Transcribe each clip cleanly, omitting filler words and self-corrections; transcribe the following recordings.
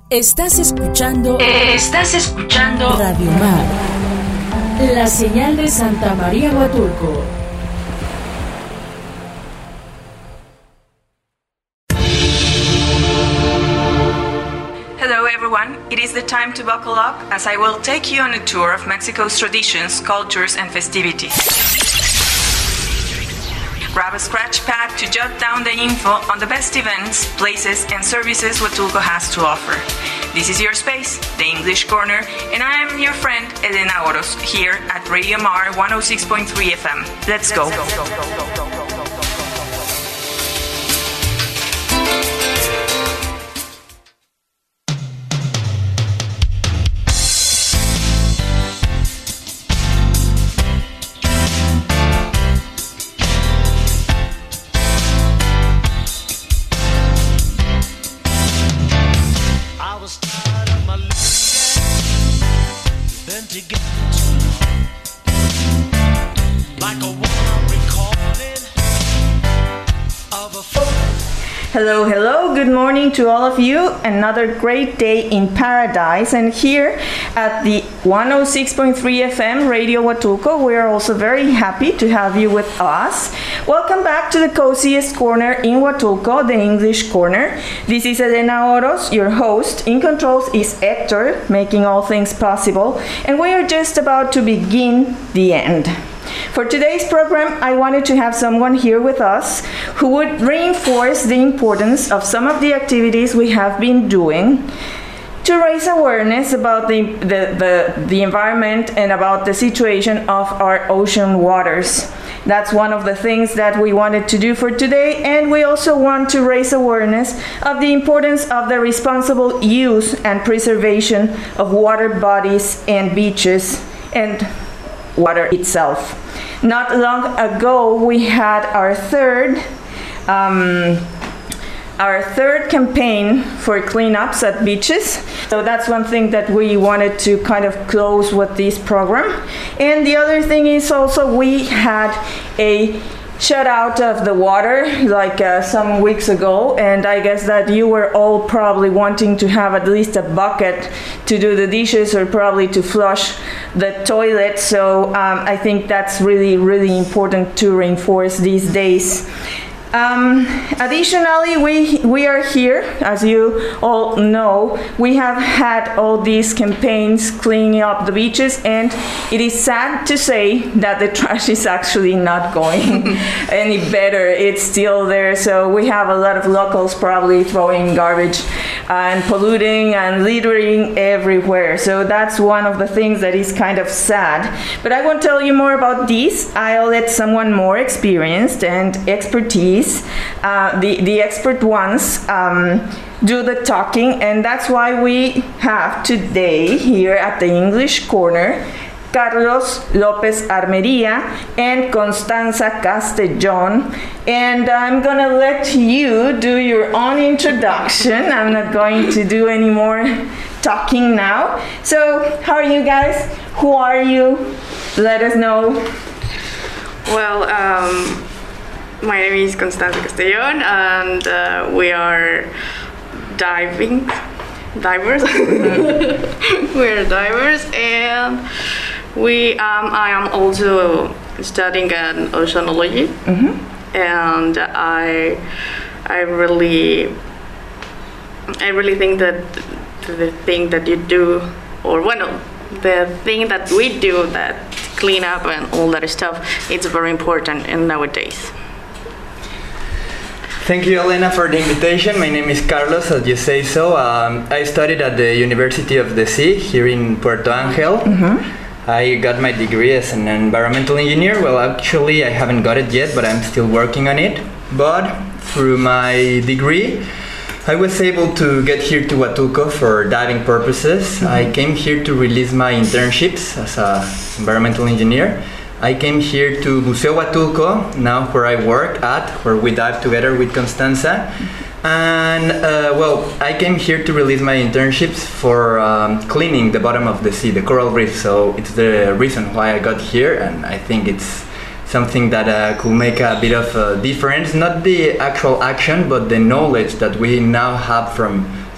Estás escuchando Radio Mar, la señal de Santa María Huatulco. Hello everyone, it is the time to buckle up as I will take you on a tour of Mexico's traditions, cultures and festivities. Grab a scratch pad to jot down the info on the best events, places and services Huatulco has to offer. This is your space, the English Corner, and I am your friend Elena Oros here at Radio Mar 106.3 FM. Let's go. Hello, good morning to all of you. Another great day in paradise, and here at the 106.3 FM Radio Huatulco, we are also very happy to have you with us. Welcome back to the coziest corner in Huatulco, the English Corner. This is Elena Oros, your host. In controls is Hector, making all things possible, and we are just about to begin the end. For today's program, I wanted to have someone here with us who would reinforce the importance of some of the activities we have been doing to raise awareness about the environment and about the situation of our ocean waters. That's one of the things that we wanted to do for today, and we also want to raise awareness of the importance of the responsible use and preservation of water bodies and beaches and water itself. Not long ago, we had our third campaign for cleanups at beaches. So that's one thing that we wanted to kind of close with this program. And the other thing is also we had a shut out of the water like some weeks ago, and I guess that you were all probably wanting to have at least a bucket to do the dishes or probably to flush the toilet. So I think that's really, really important to reinforce these days. Additionally, we are here, as you all know, we have had all these campaigns cleaning up the beaches, and it is sad to say that the trash is actually not going any better. It's still there, so we have a lot of locals probably throwing garbage and polluting and littering everywhere. So that's one of the things that is kind of sad. But I won't tell you more about this. I'll let someone more experienced and expertise, the expert ones, do the talking, and that's why we have today here at the English Corner Carlos Lopez Armeria and Constanza Castellon, and I'm gonna let you do your own introduction. I'm not going to do any more talking now. So how are you guys? Who are you? Let us know. Well, my name is Constanza Castellon, and we are divers. We're divers, and I am also studying an oceanology, and I really think that the thing that you do, or the thing that we do, that clean up and all that stuff, it's very important in nowadays. Thank you, Elena, for the invitation. My name is Carlos, as you say so. I studied at the University of the Sea here in Puerto Angel. I got my degree as an environmental engineer. Well, actually, I haven't got it yet, but I'm still working on it. But through my degree, I was able to get here to Huatulco for diving purposes. I came here to release my internships as an environmental engineer. I came here to Museo Huatulco, now where I work at, where we dive together with Constanza. And I came here to release my internships for cleaning the bottom of the sea, the coral reef. So it's the reason why I got here, and I think it's something that could make a bit of a difference. Not the actual action, but the knowledge that we now have from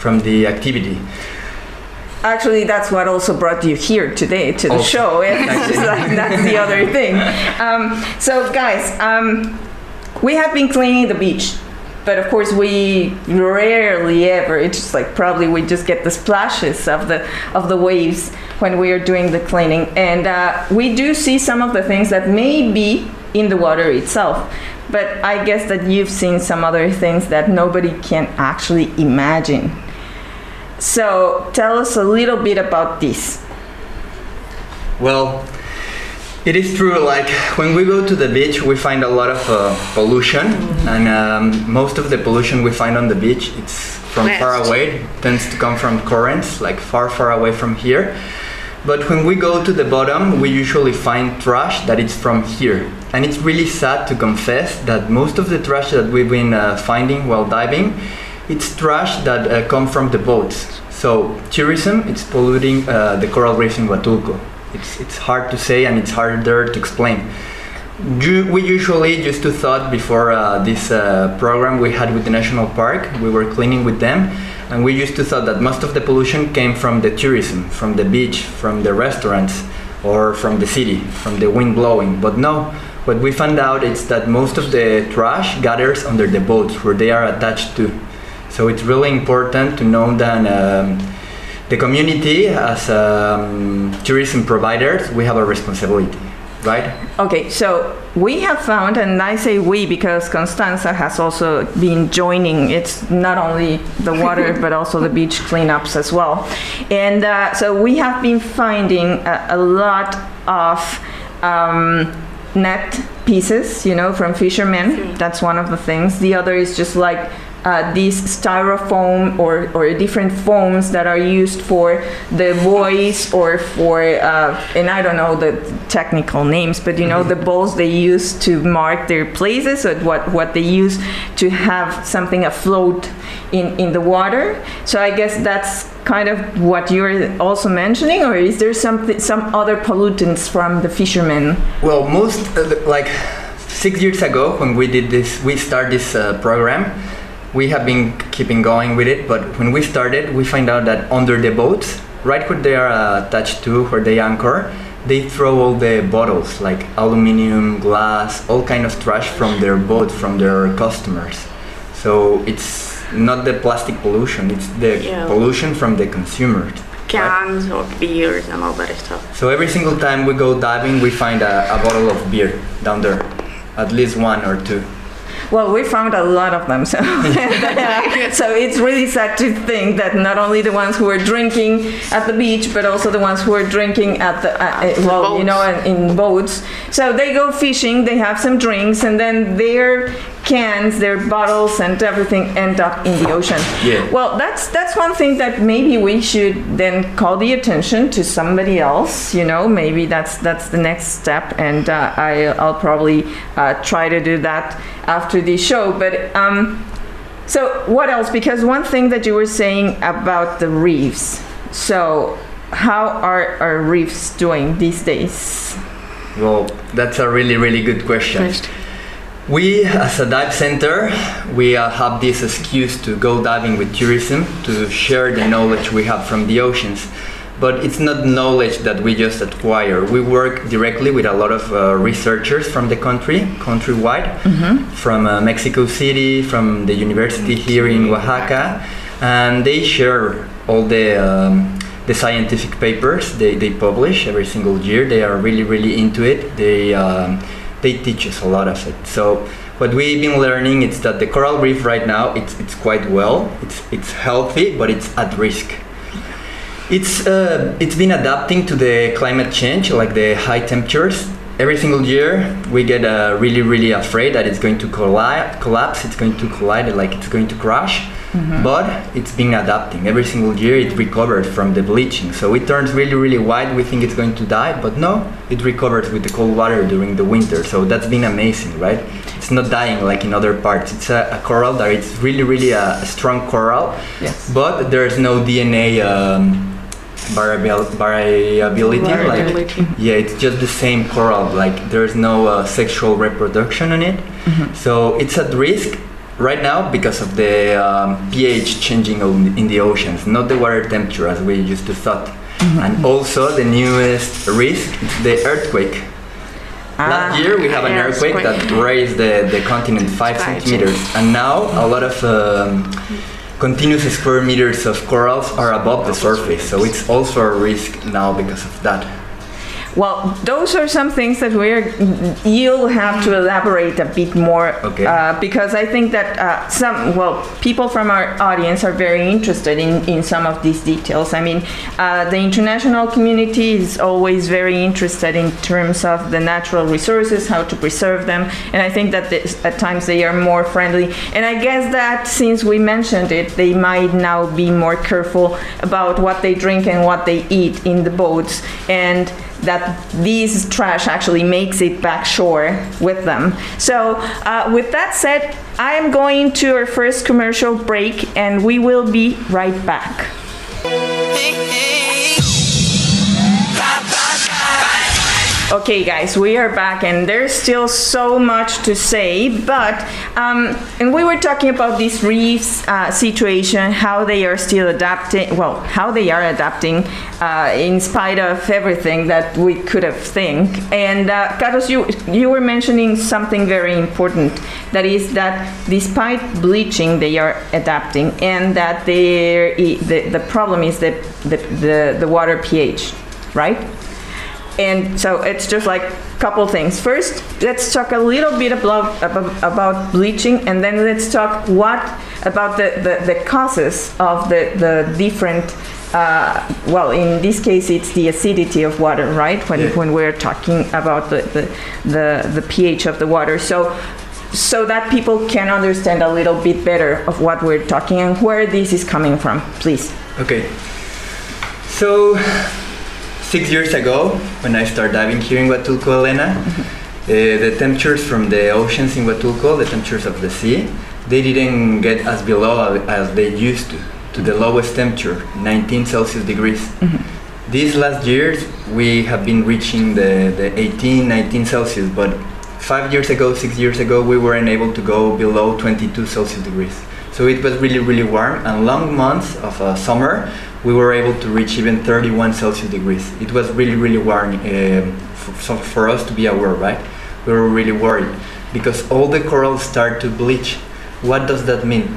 from the activity. Actually, that's what also brought you here today to the show. It's just like, that's the other thing. So guys, we have been cleaning the beach, but of course we rarely ever, it's just like probably we just get the splashes of the waves when we are doing the cleaning. And we do see some of the things that may be in the water itself. But I guess that you've seen some other things that nobody can actually imagine. So tell us a little bit about this. Well, it is true, like when we go to the beach we find a lot of pollution, and most of the pollution we find on the beach, it's from far away. It tends to come from currents, like far away from here. But when we go to the bottom, we usually find trash that is from here. And it's really sad to confess that most of the trash that we've been finding while diving, it's trash that come from the boats. So tourism, it's polluting the coral reefs in Huatulco. It's hard to say and it's harder to explain. We usually used to thought before this program we had with the National Park, we were cleaning with them, and we used to thought that most of the pollution came from the tourism, from the beach, from the restaurants, or from the city, from the wind blowing. But no, what we found out is that most of the trash gathers under the boats where they are attached to. So it's really important to know that the community, as tourism providers, we have a responsibility, right? Okay, so we have found, and I say we because Constanza has also been joining. It's not only the water, but also the beach cleanups as well. And so we have been finding a lot of net pieces, you know, from fishermen. That's one of the things. The other is just like these styrofoam or different foams that are used for the buoys or for, and I don't know the technical names, but you know, the balls they use to mark their places, or what they use to have something afloat in the water. So I guess that's kind of what you're also mentioning, or is there some other pollutants from the fishermen? Well, most, like 6 years ago when we did this, we started this program, we have been keeping going with it, but when we started, we find out that under the boats, right where they are attached to, where they anchor, they throw all the bottles, like aluminum, glass, all kind of trash from their boat, from their customers. So it's not the plastic pollution, it's the pollution from the consumers. Cans, right? Or beers and all that stuff. So every single time we go diving, we find a bottle of beer down there, at least one or two. Well, we found a lot of them, so so it's really sad to think that not only the ones who are drinking at the beach, but also the ones who are drinking at the well, you know, in boats. So they go fishing, they have some drinks, and then their cans, their bottles, and everything end up in the ocean. Yeah. Well, that's one thing that maybe we should then call the attention to somebody else. You know, maybe that's the next step, and I'll probably try to do that after the show. But so what else? Because one thing that you were saying about the reefs. So how are our reefs doing these days? Well, that's a really good question. We, as a dive center, we have this excuse to go diving with tourism, to share the knowledge we have from the oceans. But it's not knowledge that we just acquire. We work directly with a lot of researchers from the countrywide, from Mexico City, from the university here in Oaxaca, and they share all the scientific papers they publish every single year. They are really into it. They teach us a lot of it. So what we've been learning is that the coral reef right now, it's quite well, it's healthy, but it's at risk. It's been adapting to the climate change, like the high temperatures. Every single year we get really afraid that it's going to collapse, it's going to collide, like it's going to crash. But it's been adapting. Every single year it recovers from the bleaching. So it turns really white. We think it's going to die, but no, it recovers with the cold water during the winter. So that's been amazing, right? It's not dying like in other parts. It's a coral that it's really a strong coral. Yes. But there's no DNA variability. Like, yeah, it's just the same coral. Like there's no sexual reproduction on it. So it's at risk. right now because of the pH changing in the oceans, not the water temperature as we used to thought. And also the newest risk, the earthquake. Last year we have an earthquake that raised the continent 5 centimeters, and now a lot of continuous square meters of corals are above the surface, so it's also a risk now because of that. Well, those are some things that you'll have to elaborate a bit more, because I think that people from our audience are very interested in some of these details. I mean, the international community is always very interested in terms of the natural resources, how to preserve them, and I think that at times they are more friendly. And I guess that since we mentioned it, they might now be more careful about what they drink and what they eat in the boats, and that this trash actually makes it back shore with them. So with that said, I am going to our first commercial break, and we will be right back. Okay, guys, we are back, and there's still so much to say, but and we were talking about this reefs situation, how they are still adapting, how they are adapting in spite of everything that we could have think. And Carlos, you were mentioning something very important, that is that despite bleaching, they are adapting, and that the problem is the water pH, right? And so it's just like a couple things. First, let's talk a little bit about bleaching, and then let's talk about the causes of the different, in this case it's the acidity of water, right? When we're talking about the pH of the water. So that people can understand a little bit better of what we're talking and where this is coming from, please. Okay. So 6 years ago, when I started diving here in Huatulco, Elena, the temperatures from the oceans in Huatulco, the temperatures of the sea, they didn't get as below as they used to the lowest temperature, 19 Celsius degrees. Mm-hmm. These last years, we have been reaching the 18, 19 Celsius, but 6 years ago, we weren't able to go below 22 Celsius degrees. So it was really, really warm, and long months of summer, we were able to reach even 31 Celsius degrees. It was really, really warm for us to be aware, right? We were really worried because all the corals start to bleach. What does that mean?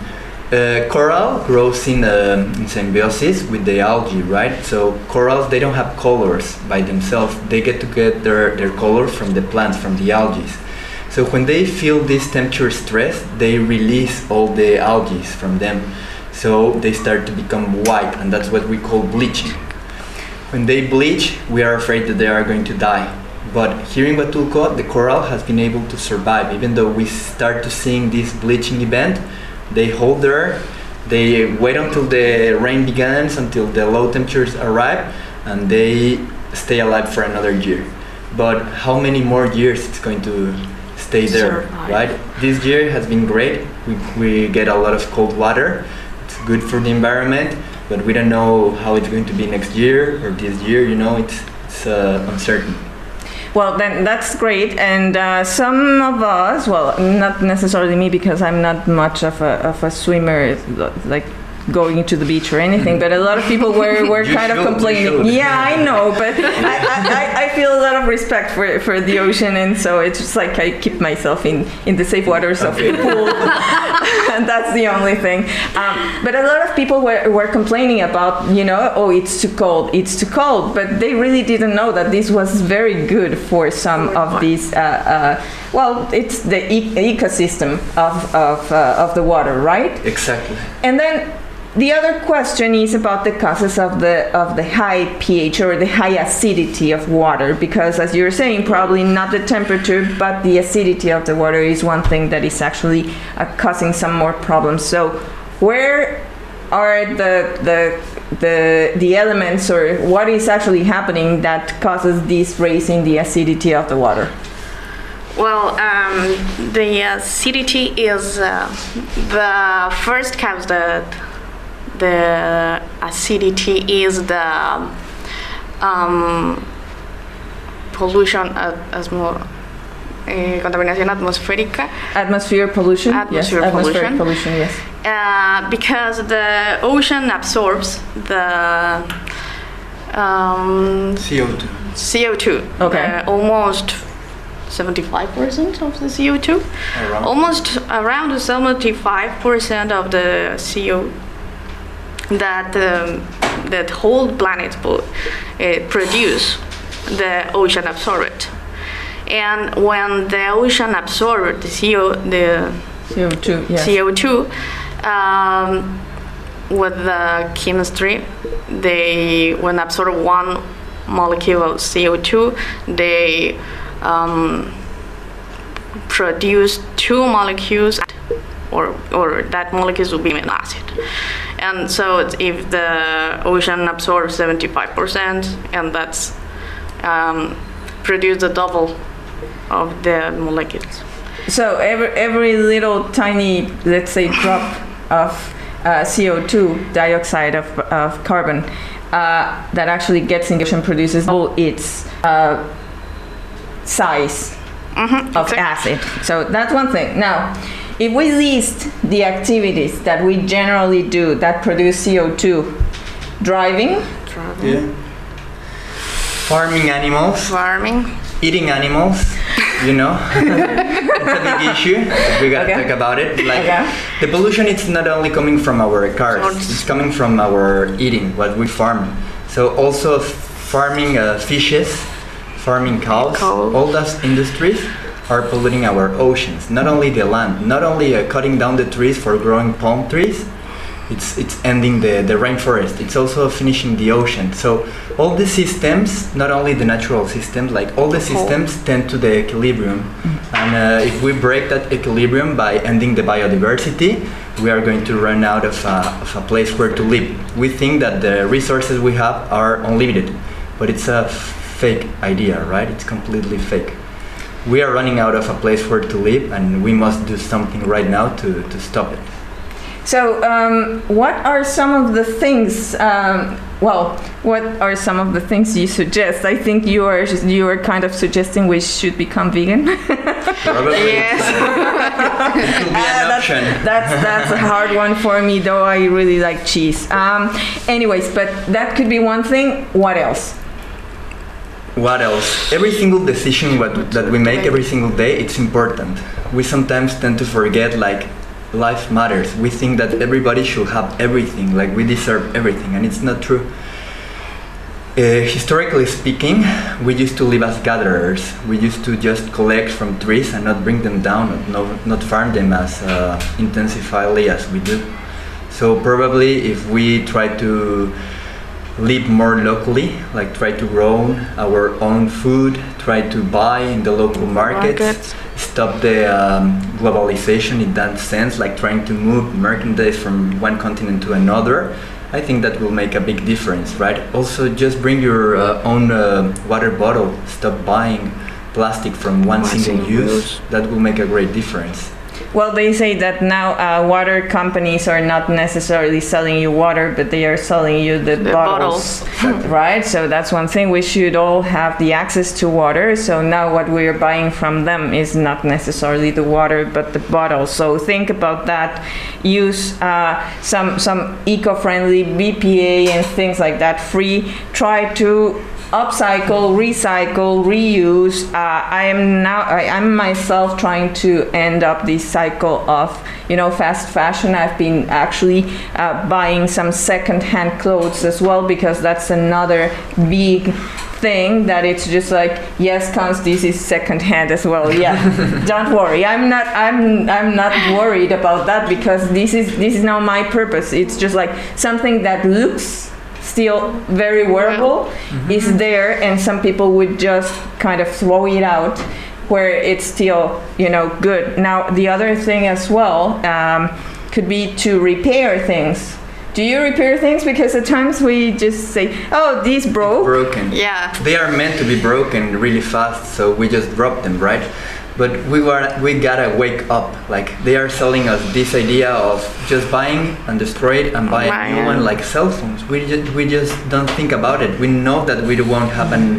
Coral grows in symbiosis with the algae, right? So corals, they don't have colors by themselves. They get their colors from the plants, from the algae. So when they feel this temperature stress, they release all the algae from them. So they start to become white, and that's what we call bleaching. When they bleach, we are afraid that they are going to die. But here in Huatulco, the coral has been able to survive. Even though we start to seeing this bleaching event, they hold there, they wait until the rain begins, until the low temperatures arrive, and they stay alive for another year. But how many more years it's going to stay there, right? This year has been great. We get a lot of cold water. It's good for the environment, but we don't know how it's going to be next year or this year. It's uncertain. Well, then that's great. And some of us, well, not necessarily me because I'm not much of a swimmer, like going to the beach or anything, but a lot of people were kind of complaining. Yeah, I know, but I feel a lot of respect for the ocean, and so it's just like I keep myself in the safe waters of the pool, and that's the only thing. But a lot of people were complaining about, it's too cold, but they really didn't know that this was very good for some of these. It's the ecosystem of the water, right? Exactly. And then the other question is about the causes of the high pH or the high acidity of water, because as you're saying, probably not the temperature, but the acidity of the water is one thing that is actually causing some more problems. So where are the elements, or what is actually happening that causes this raise in the acidity of the water? Well, the acidity is the first cause that the acidity is the pollution as more contaminación atmosférica. Atmospheric pollution. Atmospheric pollution. Yes. Because the ocean absorbs the CO2. CO2. Okay. Almost 75% of the CO2. Around. Almost around 75% of the CO that that whole planet produce, the ocean absorb it. And when the ocean absorbs the CO2. Yes. CO2, with the chemistry, when absorb one molecule of CO2, they produce two molecules, or that molecules will be an acid. And so if the ocean absorbs 75%, and that's produce the double of the molecules. So every little tiny, let's say, drop of CO2, dioxide of carbon, that actually gets in the ocean produces double its size of acid. So that's one thing. Now, if we list the activities that we generally do that produce CO2, driving, Yeah. Farming animals. Eating animals, you know. It's a big issue. We gotta talk about it. Like the pollution, it's not only coming from our cars, it's coming from our eating, what we farm. So also farming fishes, farming cows, all those industries are polluting our oceans. Not only the land, not only cutting down the trees for growing palm trees, it's ending the rainforest. It's also finishing the ocean. So all the systems, not only the natural systems, like all the systems tend to the equilibrium. And if we break that equilibrium by ending the biodiversity, we are going to run out of a place where to live. We think that the resources we have are unlimited, but it's a fake idea, right? It's completely fake. We are running out of a place where to live, and we must do something right now to stop it. So, what are some of the things? What are some of the things you suggest? I think you are kind of suggesting we should become vegan. Probably. Yes. It could be an option. That's a hard one for me, though. I really like cheese. Anyways, but that could be one thing. What else? What else? Every single decision that we make every single day, it's important. We sometimes tend to forget, like, life matters. We think that everybody should have everything, like we deserve everything, and it's not true. Historically speaking, we used to live as gatherers. We used to just collect from trees and not bring them down, not farm them as intensively as we do. So probably if we try to live more locally, like try to grow our own food, try to buy in the local markets. Stop the globalization in that sense, like trying to move merchandise from one continent to another, I think that will make a big difference, right? Also, just bring your own water bottle. Stop buying plastic from one single use. That will make a great difference. Well, they say that now water companies are not necessarily selling you water, but they are selling you the bottles, right? So that's one thing. We should all have the access to water. So now what we are buying from them is not necessarily the water, but the bottle. So think about that. Use some eco-friendly BPA and things like that free. Try to upcycle, recycle, reuse. I'm myself trying to end up this cycle of, fast fashion. I've been actually buying some second-hand clothes as well, because that's another big thing that it's just like, yes, Cons, this is second-hand as well. Yeah, don't worry. I'm not worried about that, because this is now my purpose. It's just like something that looks still very wearable is there, and some people would just kind of throw it out where it's still good. Now the other thing as well could be to repair things. Do you repair things? Because at times we just say, oh, these broke. Broken. Yeah. They are meant to be broken really fast, so we just drop them, right? But we gotta wake up. Like, they are selling us this idea of just buying and destroy it and buy a new one, like cell phones. We just don't think about it. We know that we won't have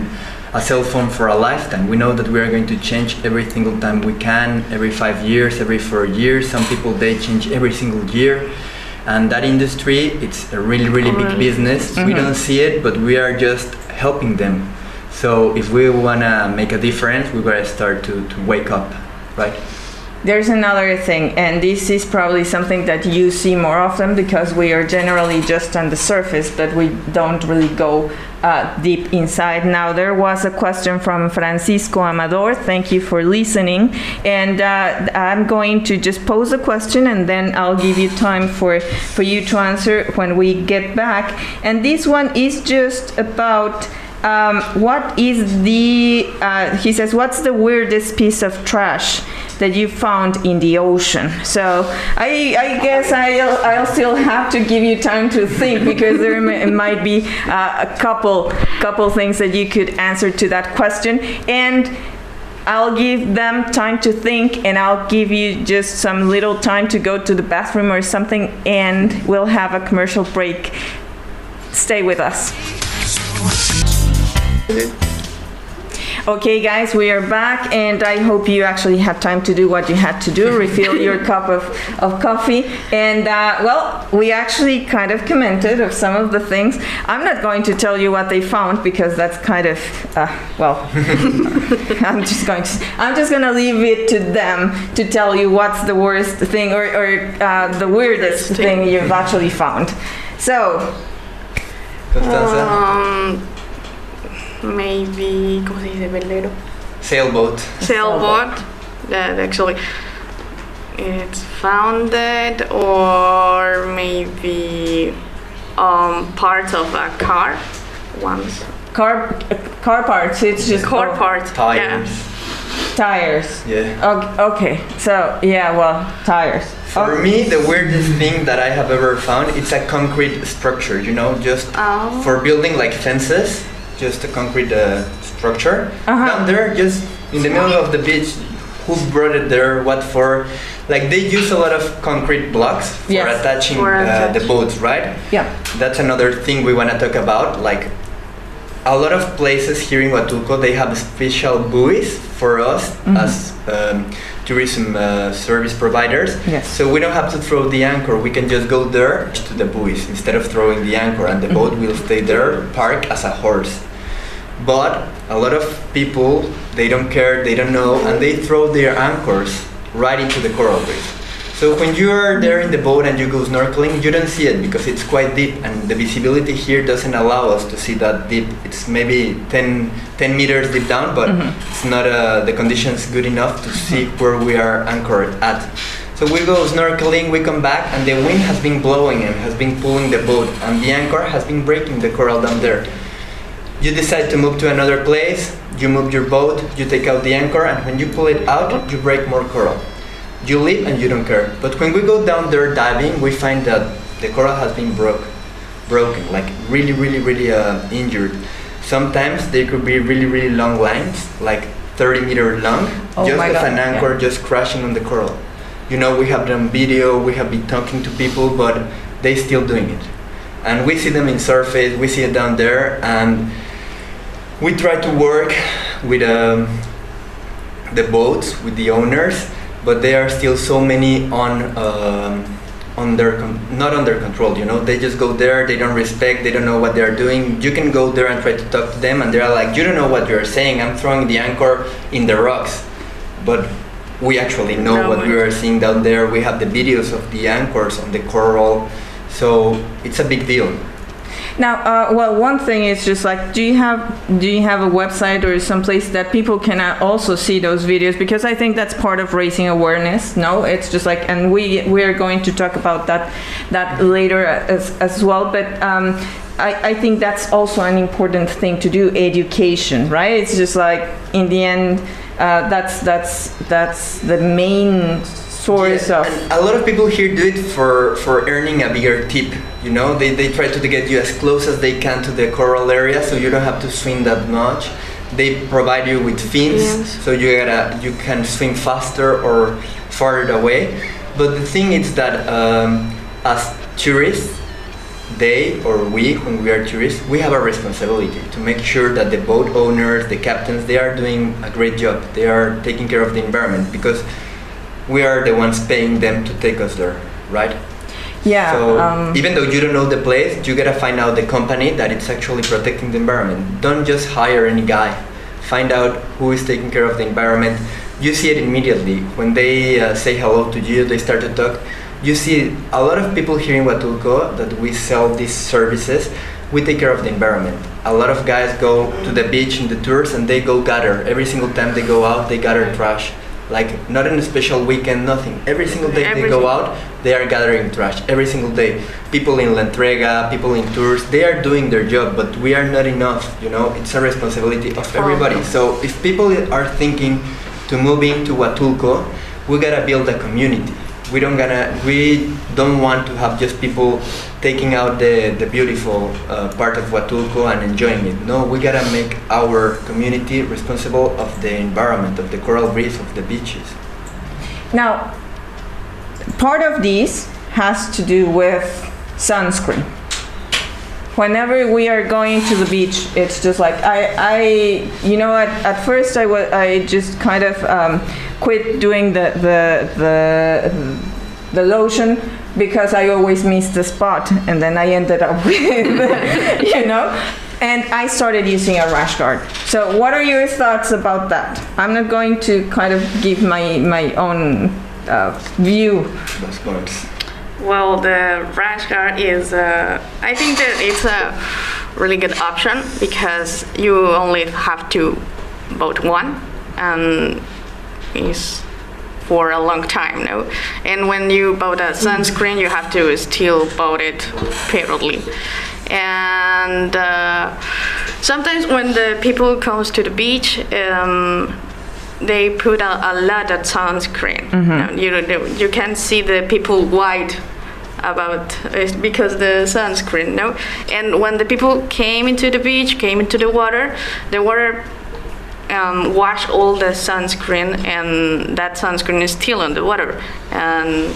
a cell phone for a lifetime. We know that we are going to change every single time we can, every 5 years, every 4 years. Some people, they change every single year. And that industry, it's a really, really big business. We don't see it, but we are just helping them. So if we want to make a difference, we gotta start to wake up, right? There's another thing, and this is probably something that you see more often because we are generally just on the surface, but we don't really go deep inside. Now, there was a question from Francisco Amador. Thank you for listening. And I'm going to just pose a question, and then I'll give you time for you to answer when we get back. And this one is just about what is the, he says, what's the weirdest piece of trash that you found in the ocean? So I guess I'll still have to give you time to think because there might be a couple things that you could answer to that question. And I'll give them time to think, and I'll give you just some little time to go to the bathroom or something, and we'll have a commercial break. Stay with us. Okay, guys, we are back, and I hope you actually had time to do what you had to do, refill your cup of coffee. And, well, we actually kind of commented of some of the things. I'm not going to tell you what they found because that's kind of, well, I'm just going to leave it to them to tell you what's the worst thing or the weirdest thing you've actually found. So, maybe, ¿cómo se dice? Velero. Sailboat. That actually it's founded, or maybe parts of a car. Once. Car parts. It's just car parts. Tires. Yeah. Tires. Yeah. Okay. So yeah, well, tires. For me, the weirdest thing that I have ever found, it's a concrete structure. You know, just for building like fences. Just a concrete structure down there, just in the middle of the beach. Who brought it there? What for? Like, they use a lot of concrete blocks for attaching the boats, right? Yeah. That's another thing we want to talk about. Like, a lot of places here in Huatulco, they have special buoys for us as tourism service providers. Yes. So we don't have to throw the anchor. We can just go there to the buoys instead of throwing the anchor, and the boat will stay there, parked as a horse. But a lot of people, they don't care, they don't know, and they throw their anchors right into the coral reef. So when you are there in the boat and you go snorkeling, you don't see it because it's quite deep, and the visibility here doesn't allow us to see that deep. It's maybe 10 meters deep down, but it's not the conditions good enough to see where we are anchored at. So we go snorkeling, we come back, and the wind has been blowing and has been pulling the boat, and the anchor has been breaking the coral down there. You decide to move to another place, you move your boat, you take out the anchor, and when you pull it out, you break more coral. You leave and you don't care. But when we go down there diving, we find that the coral has been broken, like really, really, really injured. Sometimes there could be really, really long lines, like 30 meters long, just with an anchor just crashing on the coral. You know, we have them video, we have been talking to people, but they still doing it. And we see them in surface, we see it down there, and we try to work with the boats, with the owners, but there are still so many not under control. You know, they just go there, they don't respect, they don't know what they are doing. You can go there and try to talk to them, and they are like, you don't know what you're saying. I'm throwing the anchor in the rocks, but we actually know what we are seeing down there. We have the videos of the anchors on the coral, so it's a big deal. Now, well, one thing is just like, do you have a website or some place that people can also see those videos? Because I think that's part of raising awareness. No, it's just like, and we are going to talk about that later as well. But I think that's also an important thing to do, education, right? It's just like, in the end, that's the main source of. And a lot of people here do it for earning a bigger tip. You know, they try to get you as close as they can to the coral area, so you don't have to swim that much. They provide you with fins, so you can swim faster or farther away. But the thing is that as tourists, they or we, when we are tourists, we have a responsibility to make sure that the boat owners, the captains, they are doing a great job. They are taking care of the environment because we are the ones paying them to take us there, right? Yeah. So even though you don't know the place, you gotta find out the company that it's actually protecting the environment. Don't just hire any guy. Find out who is taking care of the environment. You see it immediately when they say hello to you. They start to talk. You see a lot of people here in Huatulco that we sell these services. We take care of the environment. A lot of guys go to the beach in the tours and they go gather. Every single time they go out, they gather trash. Like not in a special weekend, nothing. Every single day they go out, they are gathering trash. Every single day. People in La Entrega, people in tours, they are doing their job, but we are not enough, you know? It's a responsibility of everybody. So if people are thinking to move into Huatulco, we gotta build a community. We don't want to have just people taking out the beautiful part of Huatulco and enjoying it. No, we gotta make our community responsible of the environment, of the coral reefs, of the beaches. Now, part of this has to do with sunscreen. Whenever we are going to the beach, it's just like at first I just kind of quit doing the lotion because I always missed the spot, and then I ended up with and I started using a rash guard. So what are your thoughts about that? I'm not going to kind of give my own view. Those points. Well, the rash guard is, I think that it's a really good option because you only have to vote one, and it's for a long time, no? And when you buy a sunscreen, you have to still buy it periodically. And sometimes when the people comes to the beach, they put a lot of sunscreen. Mm-hmm. You can see the people white about it because the sunscreen, no? And when the people came into the beach, came into the water wash all the sunscreen, and that sunscreen is still in the water. And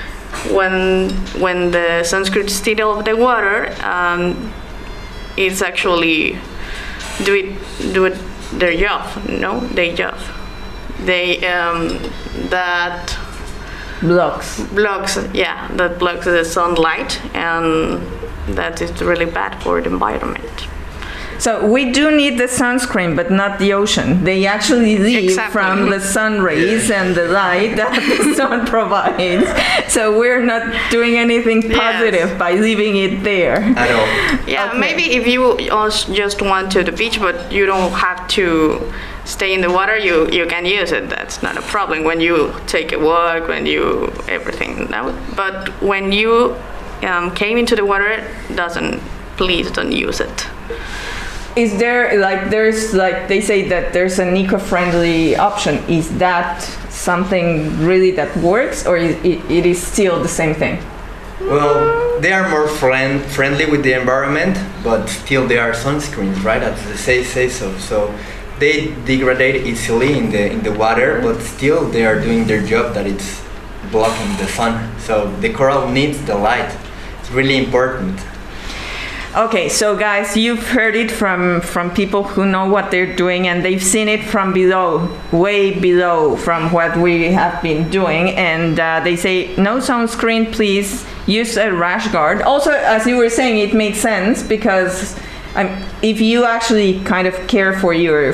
when the sunscreen is still in the water, it's actually do it their job, no? Their job. They that blocks the sunlight, and that is really bad for the environment. So we do need the sunscreen, but not the ocean. They actually leave from the sun rays and the light that the sun provides. So we're not doing anything positive by leaving it there. At all. Yeah, Okay. Maybe if you just went to the beach, but you don't have to stay in the water, you can use it. That's not a problem. When you take a walk, when you everything. No? But when you came into the water, please don't use it. Is there they say that there's an eco-friendly option? Is that something really that works, or it is still the same thing? Well, they are more friendly with the environment, but still they are sunscreens, right? As they say so. So they degrade easily in the water, but still they are doing their job, that it's blocking the sun. So the coral needs the light. It's really important. Okay, so guys, you've heard it from people who know what they're doing, and they've seen it from below, way below from what we have been doing, and they say no sunscreen, please use a rash guard. Also, as you were saying, it makes sense because if you actually kind of care for your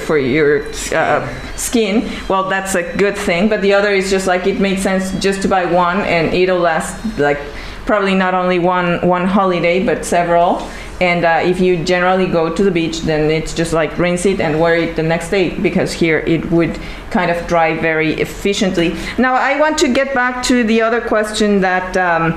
skin, well, that's a good thing. But the other is just like it makes sense just to buy one, and it'll last like probably not only one holiday, but several. And if you generally go to the beach, then it's just like rinse it and wear it the next day, because here it would kind of dry very efficiently. Now, I want to get back to the other question that,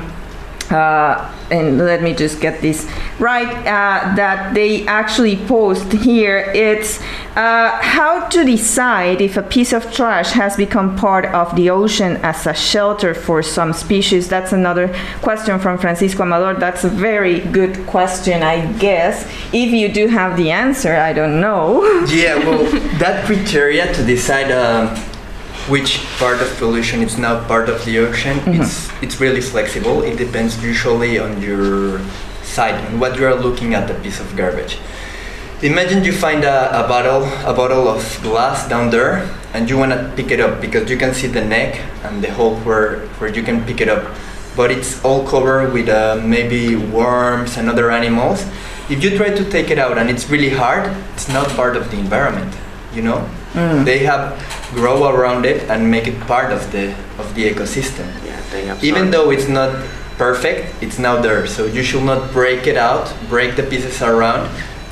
and let me just get this right, that they actually post here. It's how to decide if a piece of trash has become part of the ocean as a shelter for some species. That's another question from Francisco Amador. That's a very good question, I guess. If you do have the answer, I don't know. Yeah, well, that criteria to decide which part of pollution is now part of the ocean, it's really flexible. It depends usually on your sight, on what you are looking at, a piece of garbage. Imagine you find a bottle of glass down there, and you want to pick it up because you can see the neck and the hole where you can pick it up, but it's all covered with maybe worms and other animals. If you try to take it out and it's really hard, it's not part of the environment, you know? They have grow around it and make it part of the ecosystem. Yeah, even though it's not perfect, it's now there, so you should not break it out, break the pieces around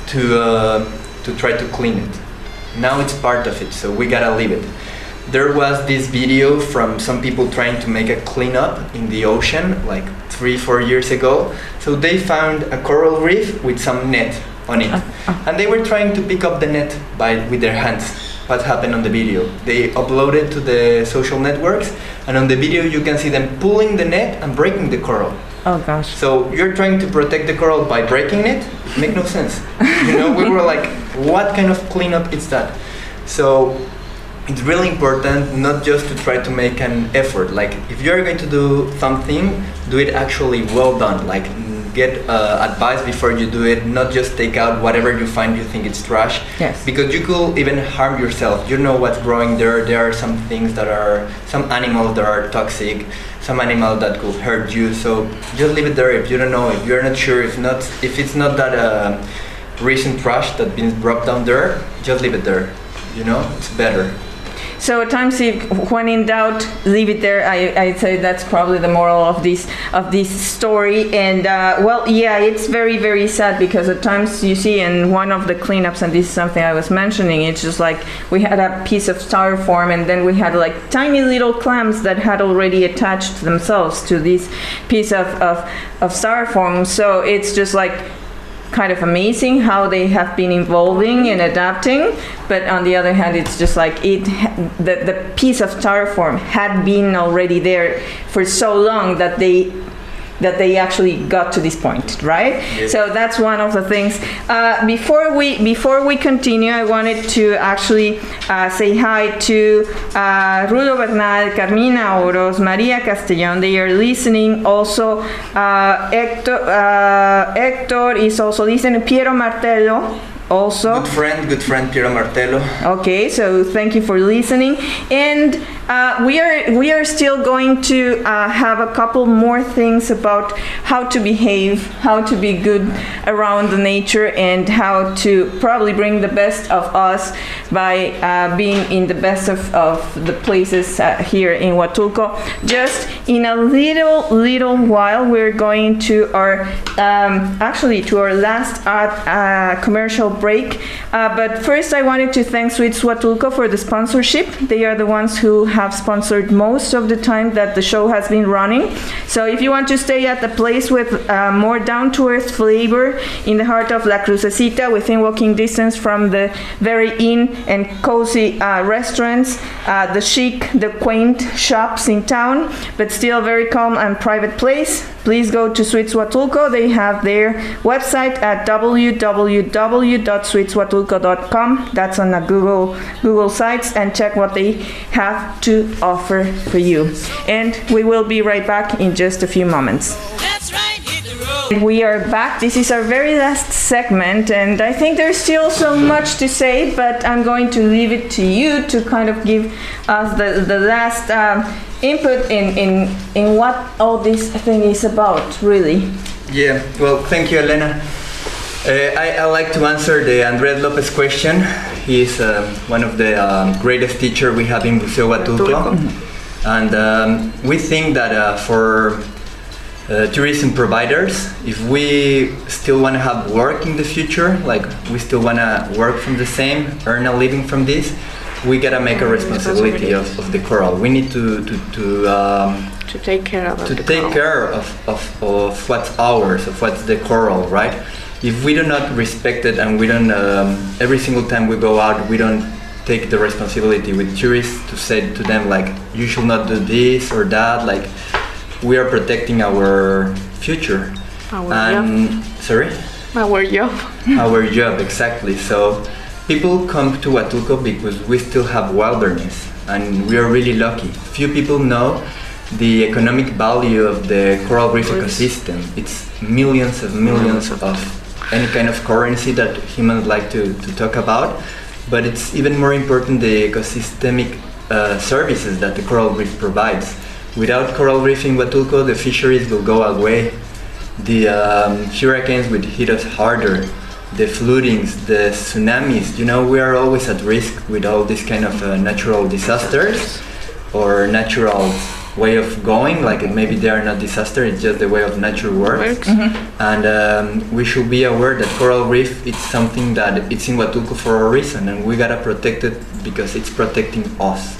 to try to clean it. Now it's part of it, so we gotta leave it. There was this video from some people trying to make a cleanup in the ocean like 3-4 years ago. So they found a coral reef with some net on it, and they were trying to pick up the net with their hands. What happened on the video? They uploaded to the social networks, and on the video you can see them pulling the net and breaking the coral. Oh gosh. So you're trying to protect the coral by breaking it? Make no sense. You know, we were like, what kind of cleanup is that? So it's really important not just to try to make an effort. Like if you're going to do something, do it actually well done. Like get advice before you do it, not just take out whatever you find you think it's trash. Yes. Because you could even harm yourself. You know what's growing there. There are some things that are, some animals that are toxic, some animal that could hurt you. So just leave it there if you don't know, if you're not sure, if it's not that recent trash that's been dropped down there, just leave it there. You know, it's better. So at times, when in doubt, leave it there. I'd say that's probably the moral of this story. And well, yeah, it's very, very sad because at times you see in one of the cleanups, and this is something I was mentioning, it's just like we had a piece of styrofoam, and then we had like tiny little clams that had already attached themselves to this piece of styrofoam. So it's just like kind of amazing how they have been evolving and adapting, but on the other hand, it's just like the piece of styrofoam had been already there for so long that they actually got to this point, right? Yes. So that's one of the things. Before we continue, I wanted to actually say hi to Rulo Bernal, Carmina Oros, Maria Castellón. They are listening. Also, Hector is also listening. Piero Martello. Also. Good friend Piero Martello. Okay, so thank you for listening. And we are still going to have a couple more things about how to behave, how to be good around the nature, and how to probably bring the best of us by being in the best of the places here in Huatulco. Just in a little while, we're going to our last commercial break. But first, I wanted to thank Sweets Huatulco for the sponsorship. They are the ones who have sponsored most of the time that the show has been running. So if you want to stay at the place with more down-to-earth flavor in the heart of La Crucecita, within walking distance from the very inn and cozy restaurants, the chic, the quaint shops in town, but still very calm and private place, please go to Sweets Huatulco. They have their website at www.sweetshuatulco.com. That's on the Google sites, and check what they have to offer for you. And we will be right back in just a few moments. That's right, hit the road. We are back. This is our very last segment, and I think there's still so much to say, but I'm going to leave it to you to kind of give us the last input in what all this thing is about, really. Yeah, well, thank you, Elena. I like to answer the Andres Lopez question. He's one of the greatest teachers we have in Buceo Huatulco. And we think that for tourism providers, if we still want to have work in the future, like we still want to work from the same, earn a living from this, we gotta make a responsibility of the coral. We need to take care of what's ours, of what's the coral, right? If we do not respect it, and we don't every single time we go out, we don't take the responsibility with tourists to say to them like, you should not do this or that, like we are protecting our future. Our job, exactly. So people come to Huatulco because we still have wilderness, and we are really lucky. Few people know the economic value of the coral reef ecosystem. It's millions of any kind of currency that humans like to talk about. But it's even more important the ecosystemic services that the coral reef provides. Without coral reef in Huatulco, the fisheries will go away. The hurricanes would hit us harder. The floodings, the tsunamis, we are always at risk with all these kind of natural disasters or natural way of going, like maybe they are not disaster, it's just the way of nature works. And we should be aware that coral reef, it's something that it's in Huatulco for a reason, and we gotta protect it because it's protecting us.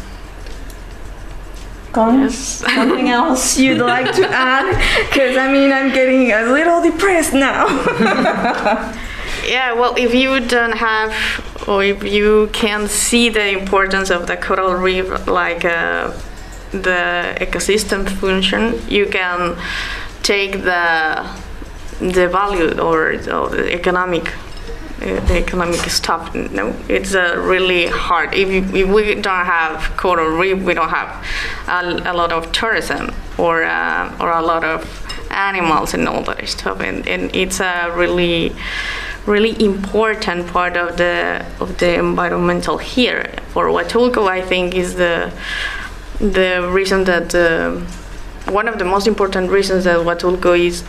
Yes. Something else you'd like to add? Because I'm getting a little depressed now. Yeah, well, if you don't have, or if you can see the importance of the coral reef, like the ecosystem function, you can take the value or the economic stuff. No, it's really hard. If we don't have coral reef, we don't have a lot of tourism or a lot of animals and all that stuff, and it's a really important part of the environmental here. For Huatulco, I think is the reason that one of the most important reasons that Huatulco is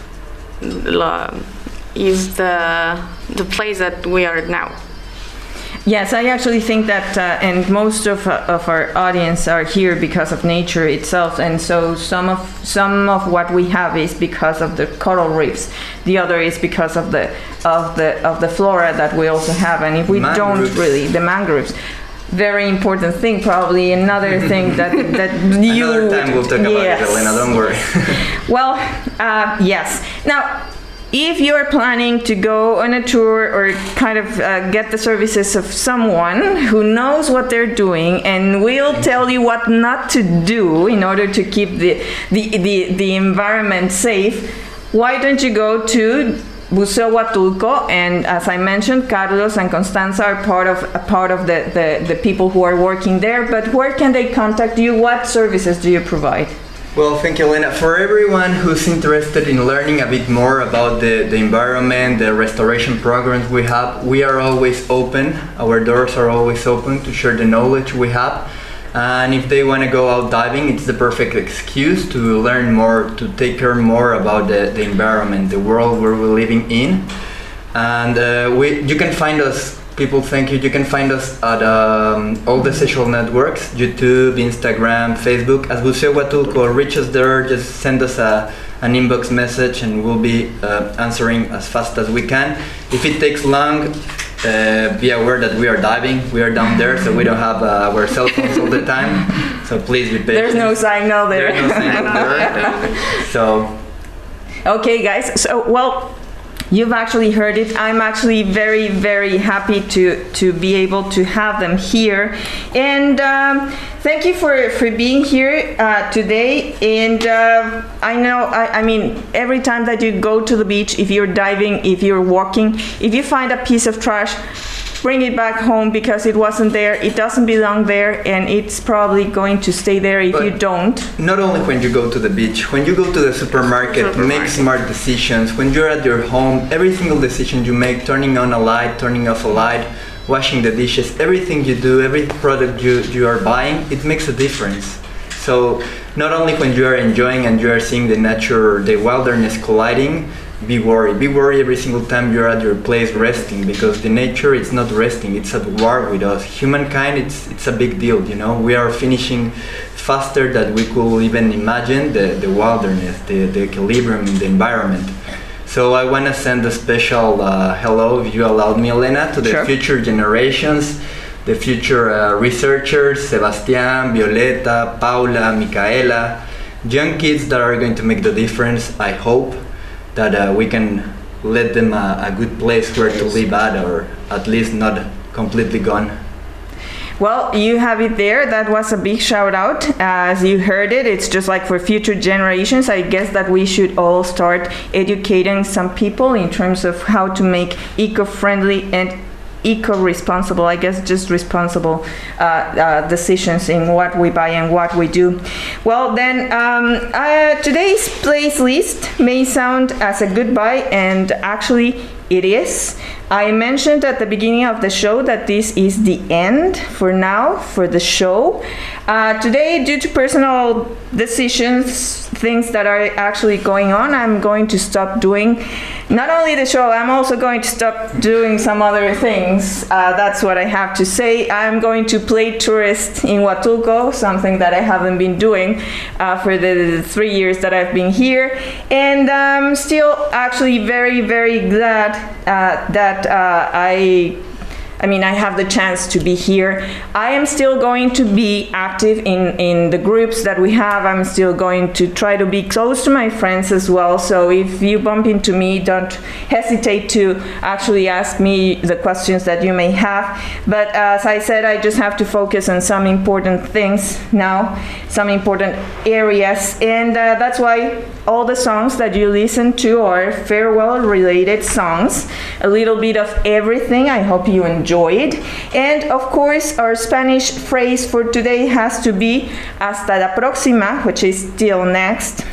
the place that we are now. Yes, I actually think that, and most of our audience are here because of nature itself, and so some of what we have is because of the coral reefs. The other is because of the flora that we also have, and if we don't really, the mangroves. Very important thing, probably another thing that you. Another time we'll talk about it, Elena. Don't worry. Well, yes. Now, if you're planning to go on a tour or kind of get the services of someone who knows what they're doing and will tell you what not to do in order to keep the environment safe, why don't you go to Buceo Huatulco? And as I mentioned, Carlos and Constanza are part of the people who are working there. But where can they contact you? What services do you provide? Well, thank you, Elena. For everyone who's interested in learning a bit more about the environment, the restoration programs we have, we are always open. Our doors are always open to share the knowledge we have. And if they want to go out diving, it's the perfect excuse to learn more, to take care more about the environment, the world where we're living in. And you can find us, people, thank you. You can find us at all the social networks, YouTube, Instagram, Facebook, as Buceo Huatulco. Reach us there, just send us an inbox message and we'll be answering as fast as we can. If it takes long, be aware that we are diving, we are down there, so we don't have our cell phones all the time. So please be patient. There's no signal there. There's no signal there. So. Okay, guys. So, well, you've actually heard it. I'm actually very, very happy to be able to have them here. And thank you for being here today. And I know, I mean, every time that you go to the beach, if you're diving, if you're walking, if you find a piece of trash, bring it back home because it wasn't there. It doesn't belong there, and it's probably going to stay there if you don't. Not only when you go to the beach, when you go to the supermarket, make smart decisions. When you're at your home, every single decision you make, turning on a light, turning off a light, washing the dishes, everything you do, every product you are buying, it makes a difference. So not only when you are enjoying and you are seeing the nature, the wilderness colliding, be worried. Be worried every single time you're at your place resting, because the nature is not resting, it's at war with us. Humankind, it's a big deal, you know. We are finishing faster than we could even imagine the wilderness, the equilibrium in the environment. So I want to send a special hello, if you allowed me, Elena, to the future generations, the future researchers, Sebastian, Violeta, Paula, Micaela, young kids that are going to make the difference, I hope. That we can let them a good place where to live at, or at least not completely gone. Well, you have it there. That was a big shout out. As you heard it, it's just like for future generations. I guess that we should all start educating some people in terms of how to make eco-friendly and eco-responsible, I guess just responsible decisions in what we buy and what we do. Well, then today's playlist may sound as a goodbye, and actually it is. I mentioned at the beginning of the show that this is the end for now for the show. Today, due to personal decisions, things that are actually going on, I'm going to stop doing not only the show, I'm also going to stop doing some other things. That's what I have to say. I'm going to play tourist in Huatulco, something that I haven't been doing for the 3 years that I've been here. And I'm still actually very, very glad that I have the chance to be here. I am still going to be active in the groups that we have. I'm still going to try to be close to my friends as well. So if you bump into me, don't hesitate to actually ask me the questions that you may have. But as I said, I just have to focus on some important things now, some important areas. And that's why all the songs that you listen to are farewell-related songs. A little bit of everything. I hope you enjoy it. And of course, our Spanish phrase for today has to be hasta la próxima, which is till next.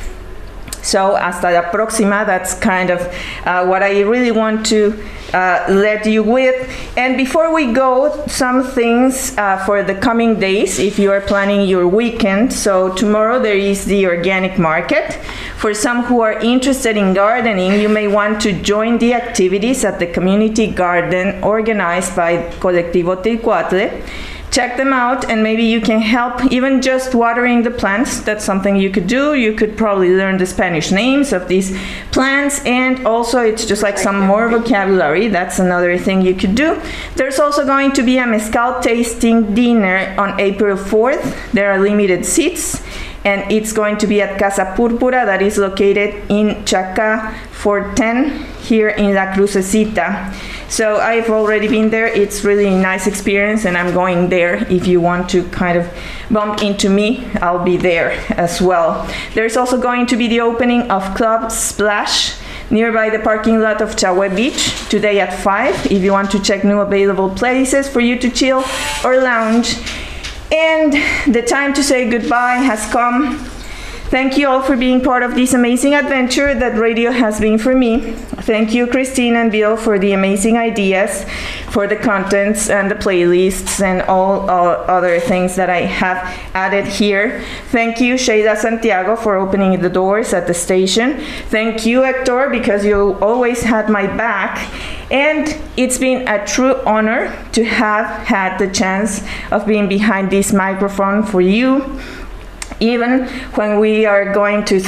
So hasta la próxima, that's kind of what I really want to let you with. And before we go, some things for the coming days if you are planning your weekend. So tomorrow there is the organic market. For some who are interested in gardening, you may want to join the activities at the community garden organized by Colectivo Tilcuatle. Check them out, and maybe you can help even just watering the plants. That's something you could do. You could probably learn the Spanish names of these plants, and also it's just like some more vocabulary. That's another thing you could do. There's also going to be a mezcal tasting dinner on April 4th. There are limited seats, and it's going to be at Casa Púrpura, that is located in Chaca 410 here in La Crucecita. So I've already been there. It's really a nice experience, and I'm going there. If you want to kind of bump into me, I'll be there as well. There's also going to be the opening of Club Splash nearby the parking lot of Chahue Beach today at 5 if you want to check new available places for you to chill or lounge. And the time to say goodbye has come. Thank you all for being part of this amazing adventure that radio has been for me. Thank you, Christine and Bill, for the amazing ideas, for the contents and the playlists and all other things that I have added here. Thank you, Sheila Santiago, for opening the doors at the station. Thank you, Hector, because you always had my back. And it's been a true honor to have had the chance of being behind this microphone for you. Even when we are going to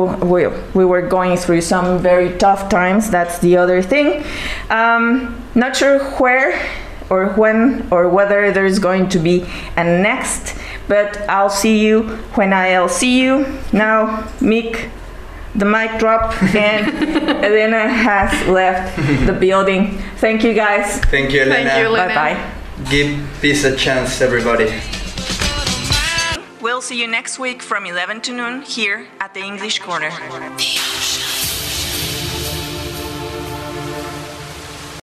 we were going through some very tough times, that's the other thing. Not sure where or when or whether there's going to be a next, but I'll see you when I'll see you. Now, Mick, the mic drop, and Elena has left the building. Thank you, guys. Thank you, Elena. Thank you, Elena. Bye-bye. Give peace a chance, everybody. We'll see you next week from 11 to noon here at the English Corner.